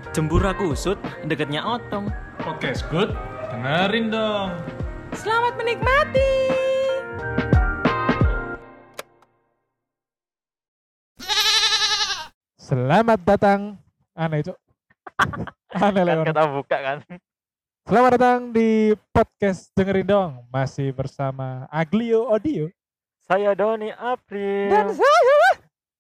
Jembura kusut, deketnya otong. Podcast good, dengerin dong. Selamat menikmati. Selamat datang. Aneh cok. Aneh lah Kan orang. kita buka kan. Selamat datang di podcast dengerin dong. Masih bersama Aglio Audio. Saya Doni April. Dan saya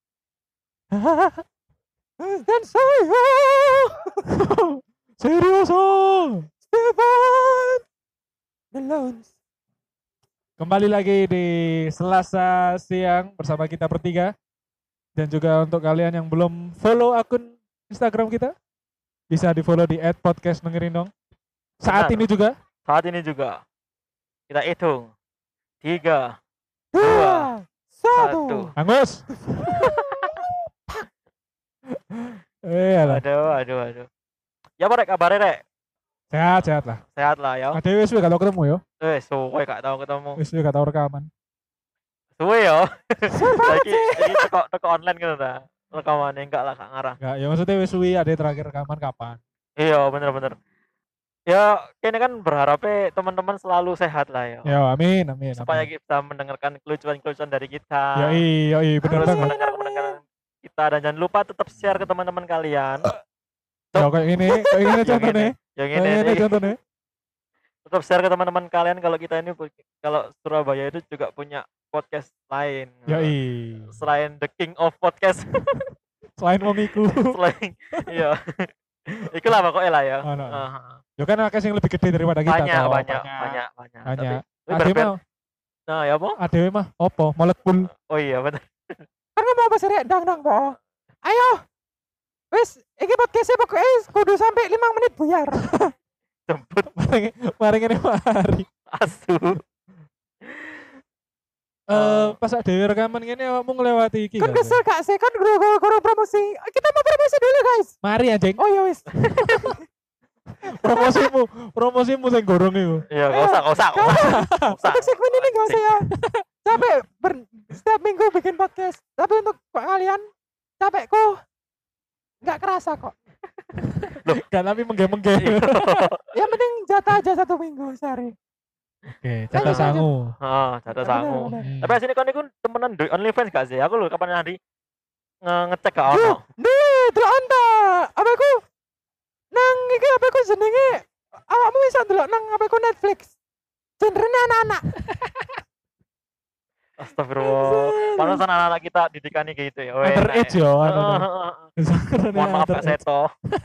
Serioso. Stefan The Loans. Kembali lagi di Selasa siang bersama kita bertiga. Dan juga untuk kalian yang belum follow akun Instagram kita, bisa di follow di @podcastdengerin dong. Saat Benar. ini juga Saat ini juga kita hitung 3, 2, 1. 1. Angus. Alah. Aduh. Ya apa rek kabarnya rek? Sehat lah. Sehat lah ya. Ada wis gak tau ketemu yo. Suwe gak tau ketemu. Wis gak tau rekaman. Suwe ya. Lagi teko online gitu ta. Rekamannya enggak lah gak ngarah. Enggak, ya maksudnya wis suwi ada terakhir rekaman kapan? Iya bener. Ya kayaknya kan berharapnya teman-teman selalu sehat lah ya. Ya, amin. Supaya amin. kita mendengarkan kelucuan-kelucuan dari kita. Yoi, bener Terus banget. mendengar kita dan jangan lupa tetap share ke teman-teman kalian. Ya kayak gini contohnya. Yang Kayak ini gini nih. contohnya. Tetap share ke teman-teman kalian kalau kita ini kalau Surabaya itu juga punya podcast lain. Yoi. Selain The King of Podcast. Selain wong iku. Selain iya. Itulah pokoknya lah ya. Ono. Aha. Ya kan akeh sing lebih gede daripada kita. Banyak, toh. banyak. Banyak. Tapi Ade berbeda. mah, Nah, ya apa? ade mah opo? Molekul. Oh iya benar. Kan ngomong apa sih rek? Dang po. Ayo. Wis, iki podcastnya pokoknya kudu sampai 5 menit buyar. Jemput Mari ngene mari. asu. Pas dhewe rekaman ngene awakmu nglewati iki. Kan gak, kesel gak sih? Kan guru promosi. Kita mau promosi dulu guys. Mari anjing. Oh ya wis. Promosimu sing gorong iku. Iya, enggak usah. Untuk segmen ini gak usah ya. Capek setiap minggu bikin podcast. Tapi untuk kalian capek kok nggak kerasa kok. Gak tapi mengge-mengge. Yang penting jatah aja 1 minggu sehari. Oke, jatah sangu. Jatah sangu. Bener. Tapi asine kon iku temenan do OnlyFans gak sih? Aku lho kapan hari ngecek gak ono. Nih, delok anta. Apa aku nang iki apa aku jenenge? Awakmu bisa delok nang apa aku Netflix. Genrenya anak-anak. Astagfirullah. Pantesan anak-anak kita didikannya gitu ya. Underage yo anu. Mohon maaf Kak Seto,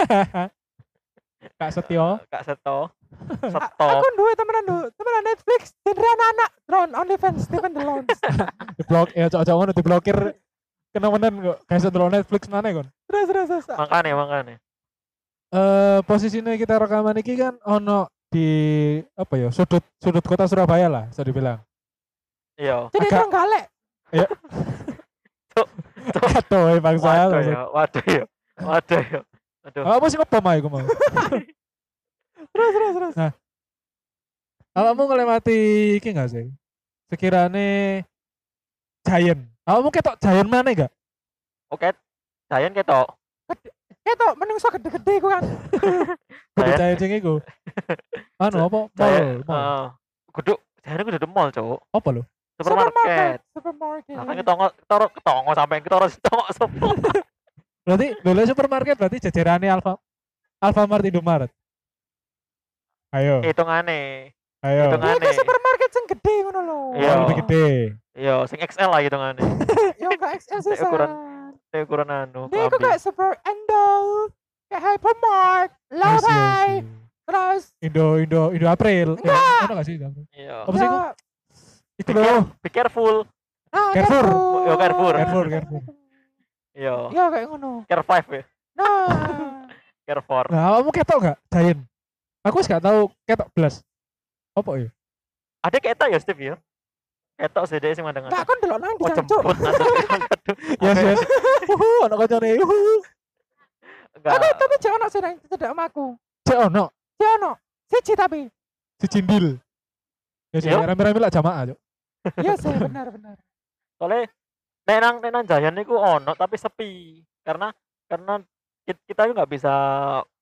Kak Setio. Kak Seto. Aku duwe temenan Netflix genre anak-anak. Drone OnlyFans Stephen The Loans. Diblok ya cocok ngono diblokir kena menen kok. Kayak setelah Netflix mana kon. Terus. Makanya. Posisinya kita rekaman iki kan ono di apa ya sudut kota Surabaya lah bisa dibilang. Iya. Jadi Agak- trenggalek. Aduh bangsa. Waduh ya. Aduh. Apa sih ngepom ae mau? Terus. Awakmu ngelewati iki enggak sih? Sekirane Giant. Awakmu ketok Giant mana enggak? Oke. Giant ketok. Ketok menungso gede-gede ku kan. Kudu Giant. Giant sing iku. Anu apa? Giant. Mall. Guduk. Giant kudu di mall, Cuk. Apa lho? Supermarket. Supermarket. Nah, ketongo sampai ketongo sopo. Berarti lho supermarket berarti jajarannya Alfamart Indomaret. Ayo. Hitungane. Ayo. Hitungan. Ini supermarket sing gede ngono lho. Iya. Oh, lebih gede. Iya, sing XL lah hitungane. Yo enggak XL sih. Ukuran- Ukuran anu. Dia kok kelambi. kayak Super Endo, kayak Hypermart, Yes, Lawai, yes. terus Indo April. Enggak. Ono gak sih? Indo April? Iya. Apa sih, ya, Kok? Iku lho. Be careful. Carrefour. Yo, Carrefour. Carrefour. Iya. Ya kayak ngono. Care 5 ya. Nah, Care 4. Nah, kamu ketok gak? Giant. Aku wis gak tahu ketok blas. Apa ya? Ada ketok ya Steve ya? Ketok sih dia sih mandang. enggak kon delok nang Oh dicancuk. jemput Yes. Ono kancane. Enggak. Tapi jek ono sih nang cedak amaku. Cek ono Jek ono. Siji tapi. si Cindil. Ya sih, Yo. rame-rame lah jamaah, Cuk. Iya sih benar. Soalnya nek nang Giant niku ono tapi sepi. Karena kita itu nggak bisa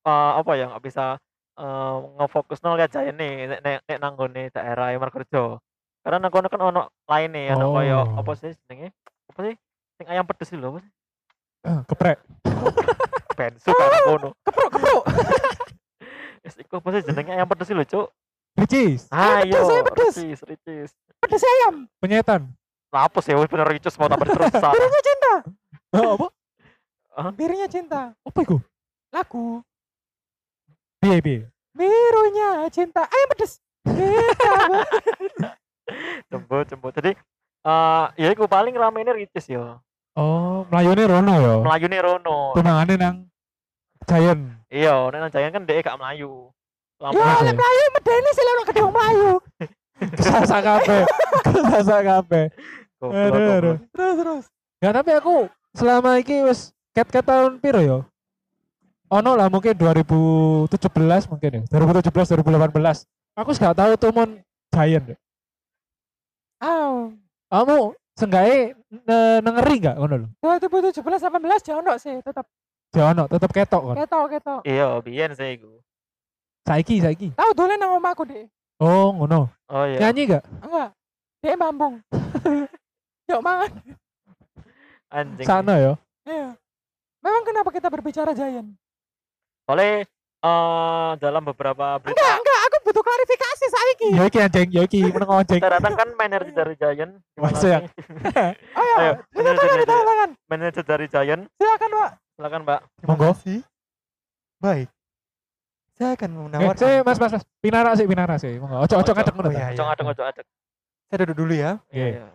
apa ya nggak bisa ngefokus lihat Giant nih nek nang nggone daerah Margorejo. Karena nang kono kan ono laine ono koyo Oh. apa sih jenenge? Apa sih? Sing ayam pedes itu lho, apa sih? Geprek. Bensu kan kono. Kepruk. Wis iku apa sih jenenge ayam pedes lho, Cuk? Ricis. Ayo, ayam pedes. Ricis. Pedes ayam. Penyetan. Lapus ya wis bener Ricis mau tambah terus. Birunya cinta. Apa? Birunya cinta. Apa itu? Lagu. Piye. Birunya cinta. Ayam pedes. Kita Jembo. Jadi ya iku paling ramene Ricis ya. Oh, melayune Rono ya. Melayune rono. Tunangane nang Giant. Iya, nek nang Giant kan dhek gak melayu. Ya, Oke. lek melayu medeni sih lek gedung melayu. Kesasa kabeh. Aduh. Terus. Ya tapi aku selama iki wis ket tahun piro ya? Ono lah mungkin 2017 mungkin ya. 2017 2018. Aku gak tahu tuh mon Giant. Oh. Kamu senggae ngeri gak ngono lho? 2017 18 jangan dok sih tetap Ya ono tetep ketok kan. ketok. Iya, biyen sih iku. Saiki. Tahu dolen nang omahku, Dek. Oh, ngono. Oh iya. Nyanyi gak? Enggak. Dek mambung. Yuk mangan. Anjing. Sana ya. Iya. Memang kenapa kita berbicara Giant? Soalnya dalam beberapa berita Enggak, aku butuh klarifikasi saiki. Ya iki anjing, ya iki meneng anjing. ternyata kan manajer dari Giant Masuk ya? Ayo, Ayo, silakan. manajer dari Giant Silakan, Pak. silakan Mbak. Monggo. Baik. Saya akan menawarkan. Mas. Pinara sih. Monggo. Ojo ngadeg ngono. Oh, iya. Ojo adek. Saya duduk dulu ya. Iya.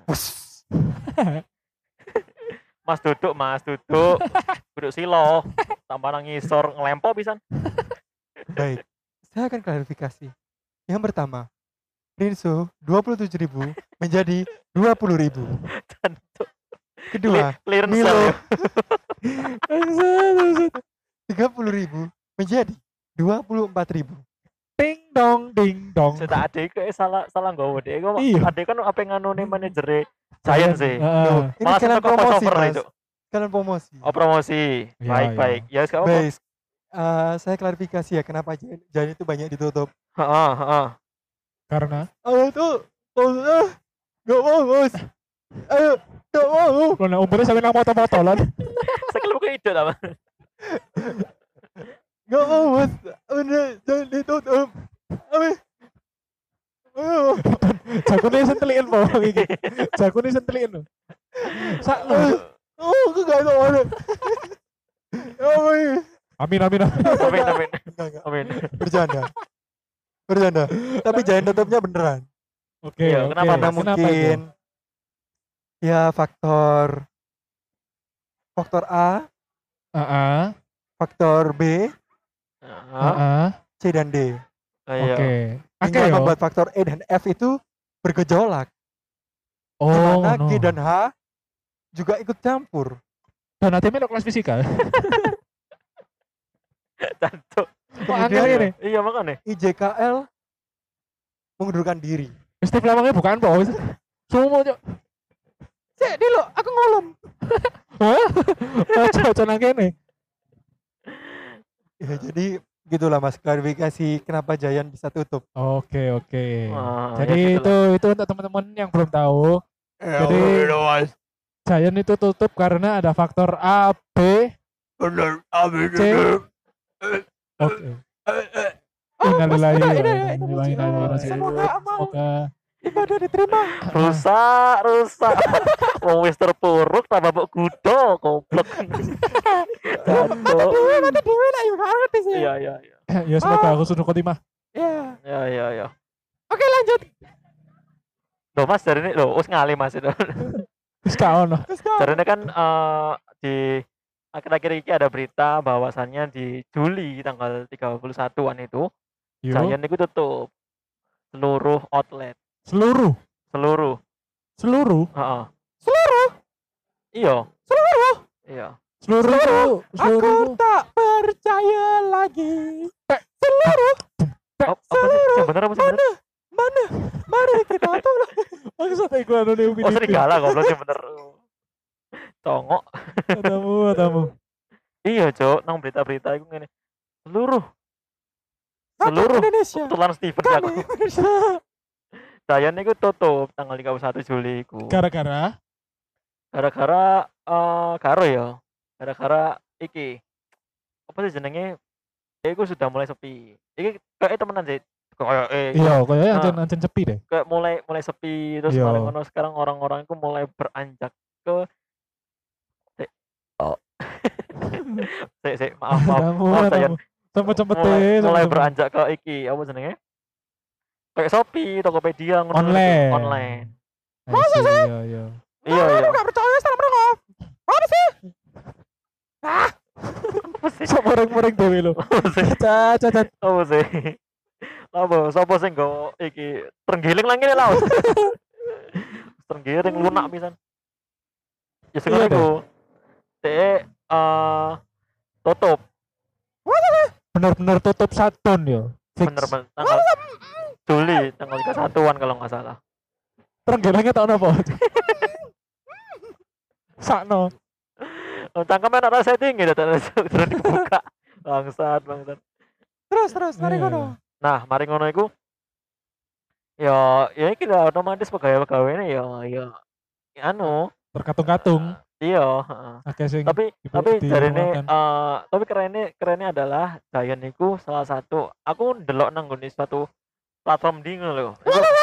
Mas duduk duduk silo tambah nang ngisor ngelempo pisan. Baik. Saya akan klarifikasi. Yang pertama, Rinso 27.000 menjadi 20.000. Kedua, Clearance Milo ya. 30.000 menjadi 24.000. Ding dong. Saya adek kok salah nggowo dek. Kok Iya. adek kan apa nganune manajere Giant sih. Heeh. Ini Malah kalian tetep promosi, crossover Mas. itu. Kalian promosi. Oh promosi. Iya, Baik. Ya sekarang apa? Baik. Saya klarifikasi ya kenapa jalan itu banyak ditutup. Heeh. Karena Awal tuh nggak mau bos. Ayo nggak mau. kalau umurnya sampai nang foto-fotolan. Saya kalau ke ide apa? Nggak mau bos. Udah jangan ditutup. Ayo. Jakune senteliin po iki. Jakune senteliin lho. Sakno. Oh, aku nggak tahu mana. Amin. Amin. Enggak. Amin. Bercanda. Tapi jangan tutupnya beneran. Oke. Iya, kenapa, Karena Mas? mungkin ya faktor A, Heeh. faktor B, Heeh. C dan D. Iya. Oke. Oke Hingga yo. membuat faktor E dan F itu bergejolak. Di Oh, mana no. G dan H juga ikut campur. Dan nanti melok kelas fisika. Cantuk. Kok angel ini? Iya makanya. IJKL mengundurkan diri. Steve lamangnya bukan po. Sumo cok. Cek dulu, aku ngolom. Hah? Ojo nang kene. Ya, jadi gitulah Mas, klarifikasi kenapa Giant bisa tutup. Oke. Wah, Jadi ya gitulah. itu untuk teman-teman yang belum tahu. Jadi Giant itu tutup karena ada faktor A, B, C. Oke. Innalillahi wa inna ilaihi raji'un. Semoga amal Semoga ibadah diterima. Rusak. Wong wis terpuruk tambah mbok gudo goblok. Cantuk. Mati dewe lah yuk, gak ngerti sih. Iya. ya semoga aku sudah khotimah. Ya. Ya. Oke lanjut. Loh Mas dari ini loh, wis ngali Mas itu. Wis gak ono. Let's go. Karena kan di akhir-akhir ini ada berita bahwasannya di Juli tanggal 31-an itu Yo. Giant itu tutup seluruh outlet. Seluruh. Heeh. Seluruh. Iya. Iya. Seluruh. Aku tak percaya lagi. Seluruh. Oh, apa sih? Yang benar apa sih benar? Mana? Mari kita tolong. Maksud aku anu nih Oh serigala goblok yang bener. Tongok. Atamu. Iya, Cok, nang berita-berita iku ngene. seluruh Rakyat Indonesia. kebetulan Steven ya Kami aku. Indonesia. Giant itu tutup tanggal 31 Juli iku. Gara-gara Gara-gara karo ya. Gara-gara iki. Apa sih jenenge? Iku sudah mulai sepi. Iki kayak temenan sih. Kayak iya kayaknya Nah. ancen sepi deh. kayak mulai sepi terus Iya. mari ngono sekarang orang-orang itu mulai beranjak ke maaf Giant. Cepet-cepet mulai beranjak ke iki apa jenenge? Kayak Shopee, Tokopedia ngono. Online. Online. Masa sih? Iya, iya. Iya, Aku iya. nggak percaya sama mereka. Apa sih? Sok moreng-moreng dewe lho. Cacat. Apa sih? Apa sapa sing nggo iki terenggiling lagi nih laut. Terenggiling lunak pisan. Ya sing Iya, iku. Dek tutup Bener-bener tutup shutdown ya. Fix. bener tanggal Juli tanggal 31-an kalau nggak salah. Terenggelengnya tau napa? Sakno. Cangkemnya nak rasa tinggi terus dibuka. Bangsat. Terus mari Iya. ngono. Nah, mari ngono iku ya iki lah otomatis pegawai-pegawai ini ya anu Terkatung-katung. iya, heeh. Akeh sing Tapi di jarine rumahkan. tapi kerennya adalah Giant iku salah satu aku ndelok nang nggone suatu platform di ngono lho.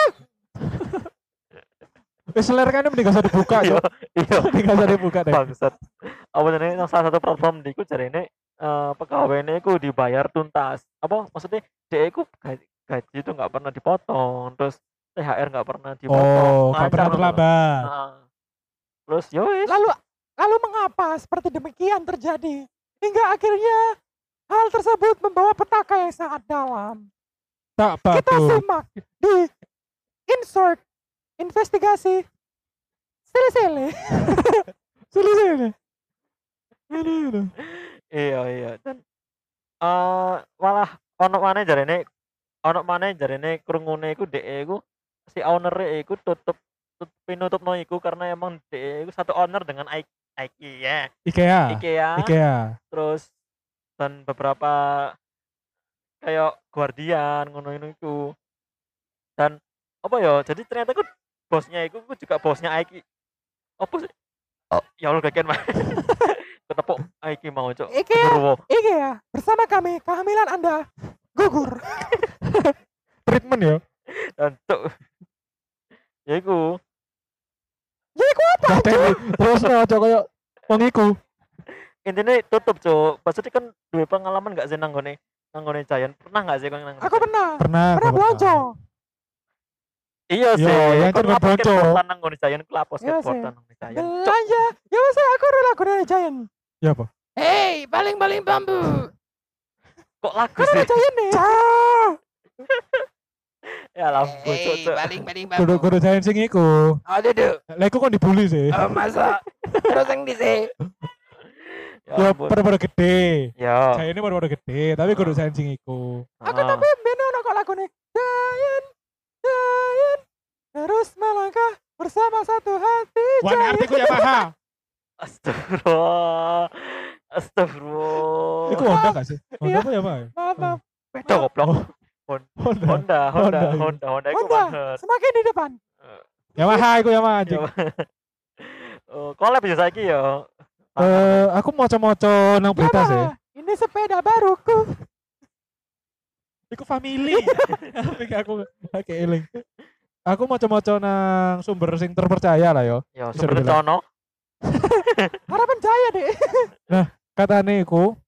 Wis ler kan mending gak usah dibuka Iya, yo. iya. Mending gak usah dibuka deh. Bangsat. Apa jenenge nang salah satu platform di iku jarine pegawainya iku dibayar tuntas. Apa maksudnya dia iku gaji itu nggak pernah dipotong, terus THR nggak pernah dipotong. Oh, gak lancar pernah ngono lho. terlambat. Heeh. Terus yo wis. Lalu mengapa seperti demikian terjadi? Hingga akhirnya hal tersebut membawa petaka yang sangat dalam. Tak Kita patut. simak di insert investigasi sele-sele. Sini. Aduh. Iya dan malah ono maneh jarene krungune iku dhek iku si owner iku pinutupno iku karena emang dhek iku satu owner dengan IKEA. IKEA. Terus dan beberapa kayak Guardian ngono iku. Dan apa ya? Jadi ternyata iku bosnya iku juga bosnya IKEA. Apa sih? Oh, ya Allah kakek mah. Ketepuk IKEA mau cok. IKEA. Genderuwo. IKEA bersama kami kehamilan Anda gugur. Treatment ya. Dan cok. Ya iku. Jadi ku apa? Terus aja koyo wong iku. Intinya tutup cok. Maksudnya kan duwe pengalaman gak sih nanggone Giant? Pernah gak sih kau nang? Aku pernah Pernah belanja. Iya Yo, sih. yang Kau kan lapor bonco. skateboardan nang ngone Giant, kelapos Iya sih. skateboardan nang ngone Giant. Cok. Belanja. Ya wes aku dulu lagu dari Giant. Ya apa? Hey, baling-baling bambu. Kok lagu Kan sih? ada Giant nih. Ya lampu cok. baling-baling Kudu jain sing iku. Oh, duduk. Lah iku kon dibully sih. Oh, masa. Terus yang disi. Ya ampun. pada gede. Ya. Saya ini pada gede, tapi kudu jain sing iku. Aku Ah. tapi beno ono kok lagu nih. Giant. Terus melangkah bersama satu hati. Wan artiku Yamaha. Astagfirullah. Astagfirullah. Iku Honda gak sih? Honda Iya. apa Yamaha? Maaf. Beda goblok. Honda. Honda iku Honda. banget. Semakin di depan. Yamaha iku Yamaha anjing. Oh, collab ya saiki ya. Aku moco-moco nang berita sih. Yamaha, ini sepeda baruku. Iku family. aku eling. Aku moco-moco nang sumber sing terpercaya lah yo. Ya, Bisa sumber dibilang. cono. Harapan Jaya deh. Katane iku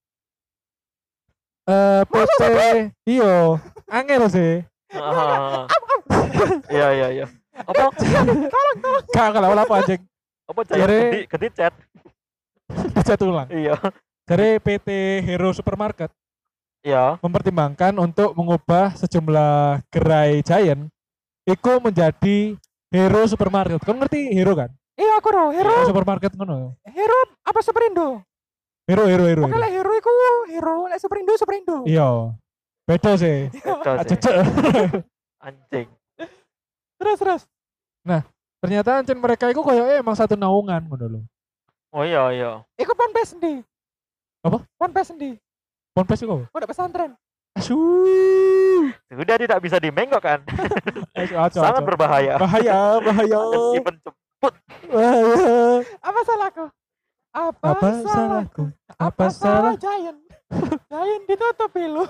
PT iyo angel sih. Ah. Iya. Apa? Tolong. Gak apa anjing. Apa Jare- gede chat? Dicat ulang. Iya. Dari PT Hero Supermarket Iya. mempertimbangkan untuk mengubah sejumlah gerai Giant iku menjadi Hero Supermarket. Kau ngerti Hero kan? Iya aku dong. Hero. Hero Supermarket ngono. Hero apa Superindo? Hero. Oke lah Hero iku Hero. Lek Superindo. Iya. Beda sih. Beda sih. Cecek. Anjing. Terus. Ternyata ancen mereka iku koyoke emang satu naungan ngono lho. Oh iya. Iku Ponpes endi? Apa? Ponpes endi? Ponpes iku. pondok pesantren. Asu. Sudah tidak bisa dimenggok kan. Sangat berbahaya. Bahaya. Si penjemput. Bahaya. Apa salahku? Apa salahku? Apa salah? Giant? Giant ditutup lu.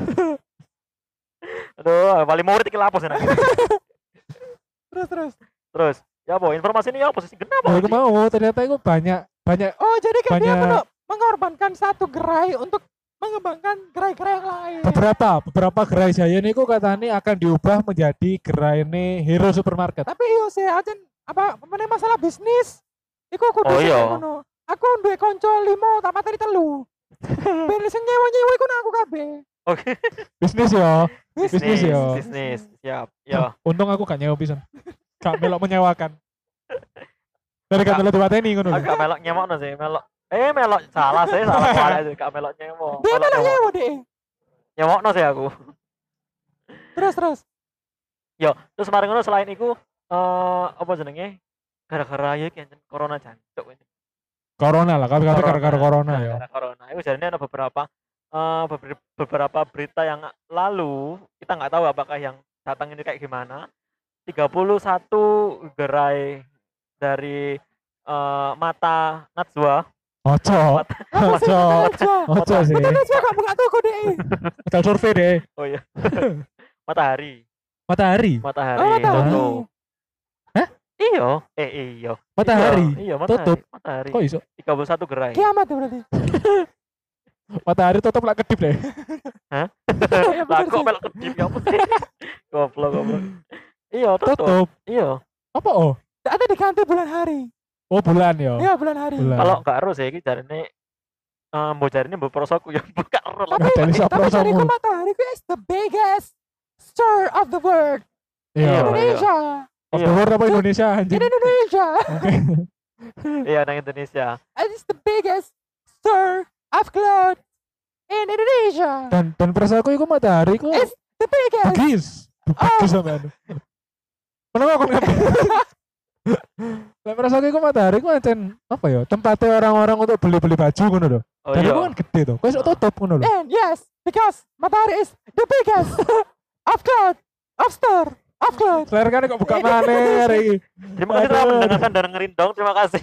Aduh, paling murid iki lapos enak. Terus. Ya apa informasi ini ya posisi kenapa? Aku mau ternyata itu banyak Oh, jadi kan dia Banyak- mengorbankan satu gerai untuk mengembangkan gerai-gerai yang lain. beberapa gerai Giant itu katanya akan diubah menjadi gerai ini Hero Supermarket. Tapi iya sih, aja apa meneh masalah bisnis. Iku kudu Oh, sing iya. ngono. Aku duwe kanca 5 tak materi 3. Ben sing nyewa-nyewa iku nang aku kabeh. Oke. Bisnis ya. Bisnis ya. Bisnis. Siap. Ya. Untung aku gak nyewa pisan. Gak melok menyewakan. Dari kan melok diwateni ngono lho. Agak melok nyemokno sih, melok. Melok salah sih, salah salah sih, gak melok nyemok. Dia malah nyewa deh. Nyemokno sih aku. Terus. Yo, terus kemarin ngono selain iku apa jenenge? Gara-gara ya kan corona jancuk ini. Corona lah, tapi gara-gara corona ya. Gara-gara corona. Itu jadinya ada beberapa berita yang lalu kita nggak tahu apakah yang datang ini kayak gimana. 31 gerai dari Mata Najwa. Ojo. Ojo sih. Betul juga gak buka toko deh. Kita survei deh. Oh iya. Matahari. Matahari. Matahari. Oh, Matahari. Tutup. Hah? Iya. Iya. Matahari. Iya, Matahari. Tutup. Matahari. Kok iso? 31 gerai. Kiamat ya berarti. Matahari tutup lah kedip deh. Ya, Lah bener kok sih. melok kedip ya apa sih? Goblok. Iya, tutup. Tutup. Iya. Apa oh? Ada diganti bulan hari. Oh bulan ya. Iya, bulan hari. Bulan. Kalau enggak harus ya iki jarine mbok jarine mbok prosoku ya buka ero lah. Tapi Dari siapa tapi dari prosomu? matahari ku is the biggest store of the world. Iya. Indonesia. Of the world apa Indonesia anjing? In Indonesia. Oke. Iya, nang Indonesia. It is the biggest store of clothes in Indonesia. Dan perasaanku itu matahari ku It's the biggest. bagus. Bagus sama anu. Kenapa aku ngerti? Lah perasaanku itu matahari ku ancen apa ya? Tempatnya orang-orang untuk beli-beli baju ngono lho. Oh Dan iya. itu kan gede tuh. Kok iso tutup ngono lho. And yes, because matahari is the biggest of clothes, of store, of clothes. Layar kan kok buka maneh hari ini. Terima kasih telah Aduh. mendengarkan dan dengerin dong. Terima kasih.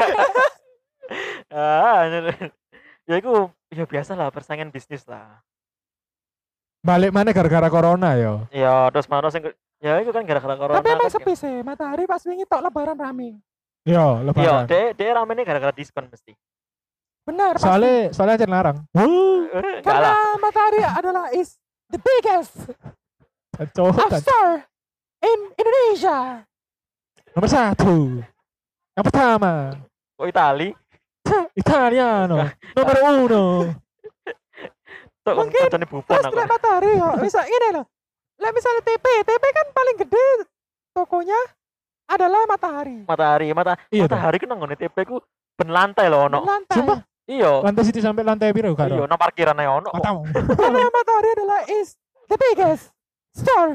Ya itu ya biasa lah persaingan bisnis lah. Balik mana gara-gara corona ya. Ya terus mana sing ya itu kan gara-gara corona. Tapi emang kan. sepi sih, matahari pas wingi tok lebaran rame. Yo, Iya, lebaran. dia ramenya gara-gara diskon mesti. Benar, pasti. Soalnya aja larang. Wuh, Enggak Karena lah. matahari adalah is the biggest kacau. of store in Indonesia. Nomor 1. Yang pertama, Kok Itali? Italiano. Nomor 1. Tuh Mungkin koncone Buffon Terus aku. lek matahari ya, bisa ini loh. Lek misalnya TP kan paling gede tokonya adalah matahari. Iya, Matahari ku nang ngene TP ku ben lantai lho ono. Lantai. Sumpah? Iya. Lantai situ sampai lantai biru kan? Iya, nang parkiran ae ono. kok. Matamu. Karena matahari adalah is the biggest store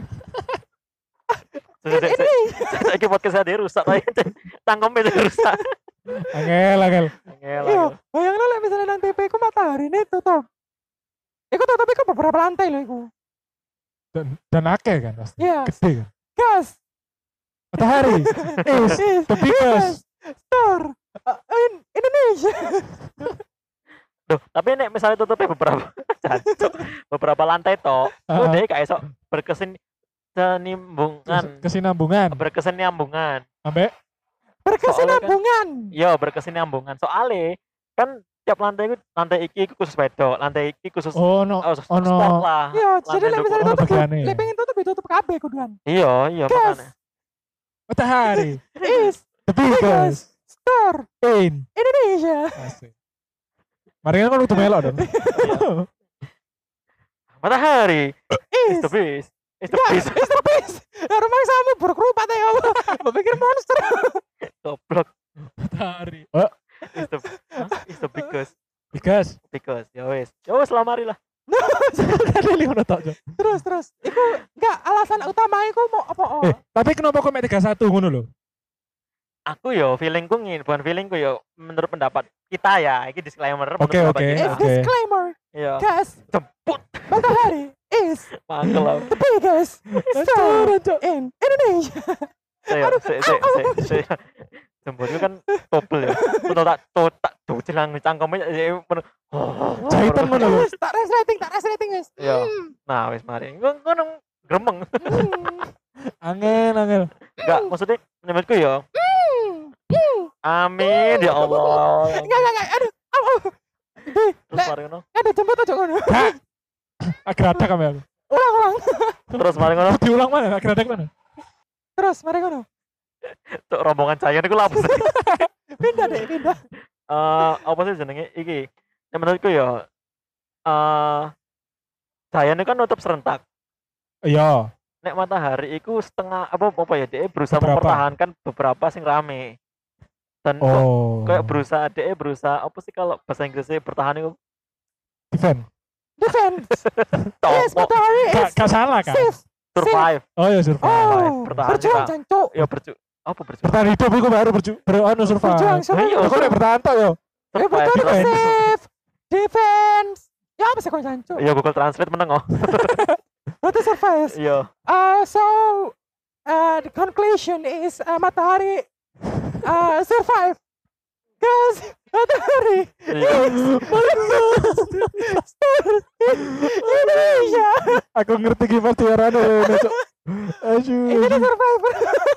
in Indonesia. Saiki podcast saya rusak ae. Tangkemnya rusak. Angel. Angel. Iya, bayangin lek misalnya nang TP ku matahari ini tutup. Iku tutup iku beberapa lantai loh iku. Dan akeh kan pasti. Iya. Gede kan. Gas. Matahari is the biggest. store in Indonesia. Duh, tapi nek misalnya tutupnya beberapa jancuk, beberapa lantai tok, Ah. udah kayak esok berkesinambungan. Berkesinambungan. Sampai Berkesinambungan. Iya, berkesinambungan. Soalnya kan tiap lantai iki khusus wedok, lantai iki khusus ono sport lah. Iya, jadi lek misalnya ono tutup, bagiane. lek pengen tutup ditutup kabeh kuduan. Iya, Gas makanya. matahari is the biggest store in Indonesia. Asik. Mari kan udah melok dong. Matahari is Is the best. Is the ya, best. is the best. Ya rumah sama berkerupat ya Allah. Mbak pikir monster. Goblok. Matahari. Is the biggest. Biggest. Ya wes lamari lah. Kali ngono tok. Jo. Terus. Iku enggak alasan utama iku mau apa? Tapi kenapa kok mek 31 ngono lho? Aku yo feelingku bukan feelingku yo menurut pendapat kita ya, ini disclaimer menurut Oke, pendapat oke. kita. It's disclaimer. Iya, Iya. Guys, Jemput. matahari is Mangkel lah. the biggest star in Indonesia. Saya jemput itu kan topel ya. Untuk tak cilang cangkemnya Jahitan mana lho? Guys, tak resleting guys. Iya. Nah, wis mari. Ngono gremeng. Angel. Enggak, maksudnya menurutku ya. Amin ya Allah. Enggak, aduh. Terus mari ngono. Ada jemput aja ngono. Agak kami aku. Ulang. Terus mari ngono. Diulang mana? Agak mana? Terus mari ngono. Cuk rombongan Cayan iku lha apa sih? Pindah. Apa sih jenenge iki? Yang menurutku ya Cayan itu kan nutup serentak. Iya. Nek matahari iku setengah apa ya dia berusaha Beberapa. mempertahankan beberapa sing rame. Dan Oh. kayak berusaha apa sih kalau bahasa Inggrisnya bertahan itu Defense. Yes, Tomo, matahari is Gak salah kan? safe. survive. Oh ya survive. Oh, bertahan berjuang juga. jancuk. Ya berjuang Bertahan hidup itu baru anu survive. Berjuang Iya, survive. Kok nek bertahan tok yo. Betul survive. safe. Defense. Ya apa sih kau jancuk? Ya Google Translate meneng oh. Berarti survive. Iya. So the conclusion is matahari survive. Guys, matahari Iya. Indonesia. Aku ngerti gimana tiarane ini, Cuk. Ini Aduh. survivor.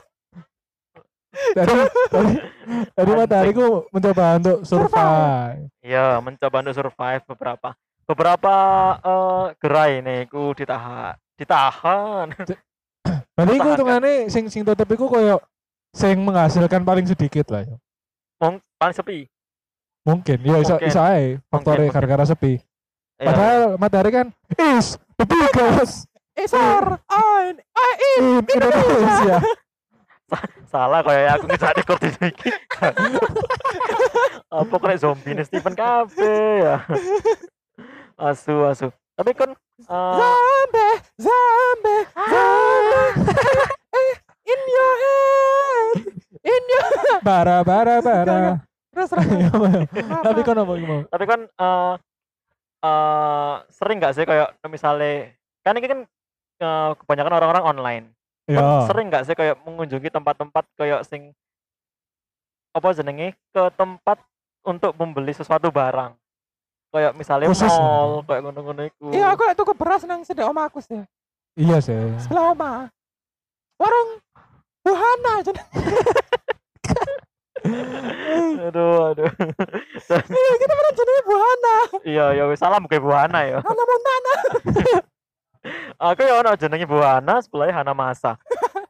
Tadi matahariku mencoba untuk survive. Iya, mencoba untuk survive beberapa gerai nih ku ditahan. Berarti iku Pertahankan. hitungane sing tetep iku koyo sing menghasilkan paling sedikit lah ya. Paling sepi. Mungkin ya iso Mungkin. ae faktore Mungkin. gara-gara sepi. Iya. Padahal matahari kan is the biggest Isar in Indonesia. Salah kayak aku ngejar rekor di sini. Apa kena zombie nih Stephen Cafe ya. Asu. Tapi kan zombie in your head in your Bara. terus Tapi kan apa mau? tapi kan sering nggak sih kayak misalnya kan ini kan kebanyakan orang-orang online. Kan Ya. sering nggak sih kayak mengunjungi tempat-tempat kayak sing apa jenenge ke tempat untuk membeli sesuatu barang. Kayak misalnya Khusus mall, kayak ngono-ngono iku. iya aku tuku beras nang sedek oma aku sih Iya sih. sebelah oma warung buhana aja Aduh. iya kita pernah jadi buhana Iya, ya wis salam ke Buhana ya. Hana Montana Aku ya ono jenenge Buhana, sebelahnya Hana Masa.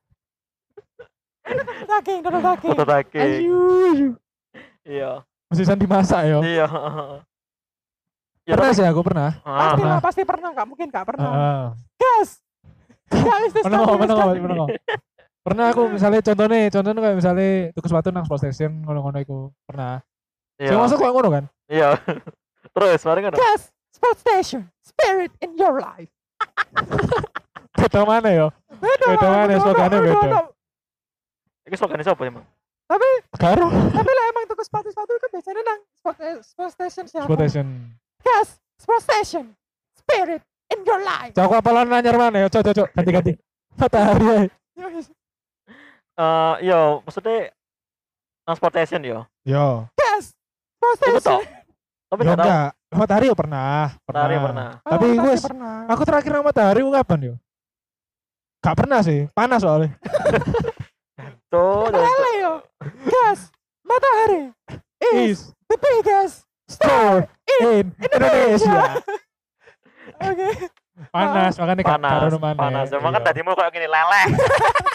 daging Foto daging. Ayu. Iya. Mesisan dimasak ya. Iya. Ya, Pernah tapi- sih aku pernah. pasti pernah nggak mungkin nggak pernah Heeh. gas nggak bisa Pernah. Pernah aku misalnya contohnya kayak misalnya tuku sepatu nang sport station ngono-ngono iku. Pernah. Iya. Sing masuk kayak ngono kan? Iya. Terus mari kan. gas sport station spirit in your life Beda mana ya? Beda mana, slogannya beda. Iki slogannya siapa emang? Karo tapi lah emang tuku sepatu kan biasanya nang sport station siapa sport station. gas sport station spirit in your life Cok apalan nanyar mana ya? Cok ganti. Matahari ae. Iya, maksudnya transportation yo. Yo. gas sport Itu station toh. Tapi Yo enggak tahu. enggak. Matahari yo pernah. Matahari pernah. Tapi Oh, gue pasti pernah aku terakhir nang matahari ku kapan yo? Gak pernah sih, panas soalnya. Tuh, Lele yo gas matahari is Is the biggest store in Indonesia. oke Panas, makanya gak panas. karo mana. Panas. Emang kan Iya. tadi mau kayak gini leleh.